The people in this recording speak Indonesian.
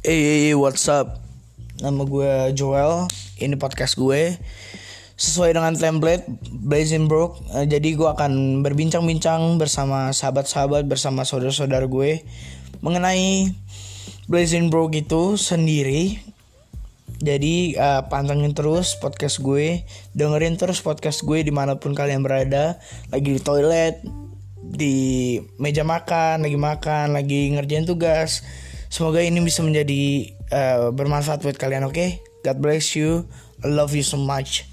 Hey, what's up? Nama gue Joel. Ini podcast gue sesuai dengan template Blazing Broke. Jadi gue akan berbincang-bincang bersama sahabat-sahabat, bersama saudara-saudara gue mengenai Blazing Broke itu sendiri. Jadi pantengin terus podcast gue, dengerin terus podcast gue dimanapun kalian berada. Lagi di toilet, di meja makan, lagi ngerjain tugas. Semoga ini bisa menjadi bermanfaat buat kalian, oke? God bless you. I love you so much.